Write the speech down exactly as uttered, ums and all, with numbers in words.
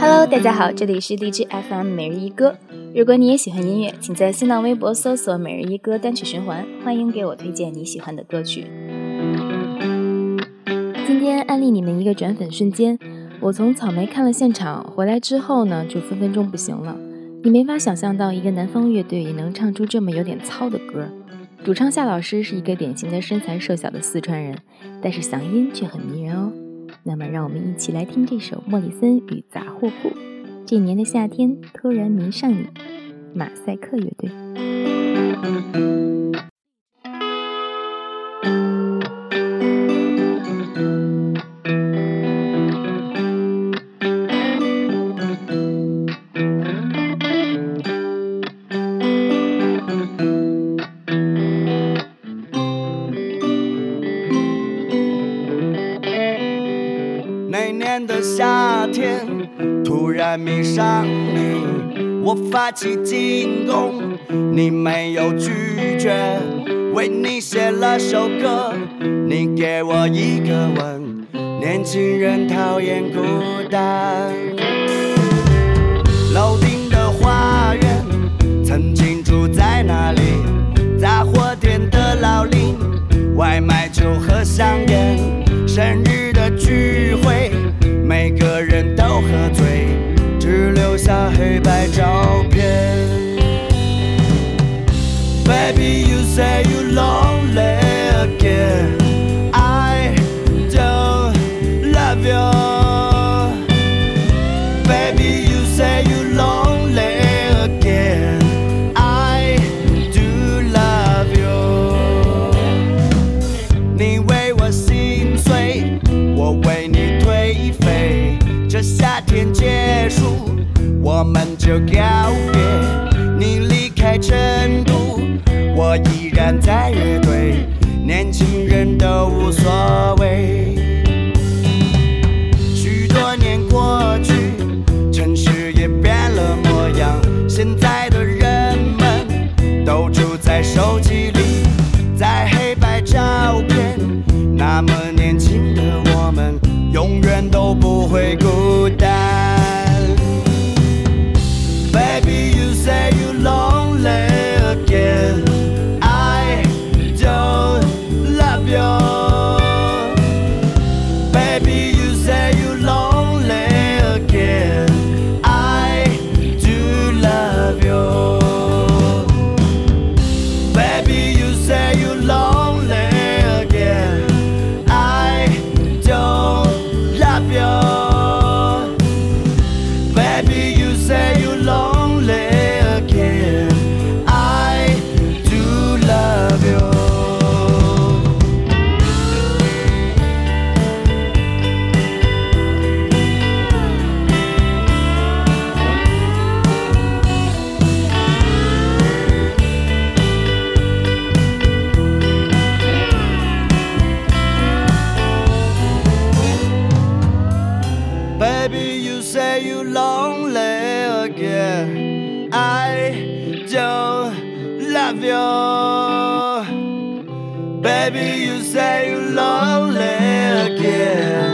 Hello， 大家好，这里是荔枝 F M 每日一歌。如果你也喜欢音乐，请在新浪微博搜索每日一歌单曲循环，欢迎给我推荐你喜欢的歌曲。今天安利你们一个转粉瞬间，我从草莓看了现场回来之后呢，就分分钟不行了。你没法想象到一个南方乐队也能唱出这么有点糙的歌。主唱夏老师是一个典型的身材瘦小的四川人，但是嗓音却很迷人哦。那么让我们一起来听这首莫里森与杂货铺。这年的夏天突然迷上你，马赛克乐队。 那年的夏天突然迷上你，我发起进攻，你没有拒绝，为你写了首歌，你给我一个吻，年轻人讨厌孤单。楼顶的花园曾经住在那里，杂货店的老林，外卖酒和香烟，生日的聚会每个人都喝醉，只留下黑白照片。 Baby you say you lonely again, I don't love you. Baby you say you lonely again, I do love you. 你为我心碎，我为你颓废，这夏天结束，我们就告别。你离开成都，我依然在乐队，年轻人都无所谓。许多年过去，城市也变了模样，现在的人们都住在手机里，在黑白照片，那么年轻的我们永远都不会孤单。 Baby you say you lonely again, I don't love you. Baby you say you lonely again, I do love you. Baby you say you lonely again, I don't love you. Baby you say you lonely again, I do love you. Baby you say you lonely again, I don't love you. Baby you say you lonely again,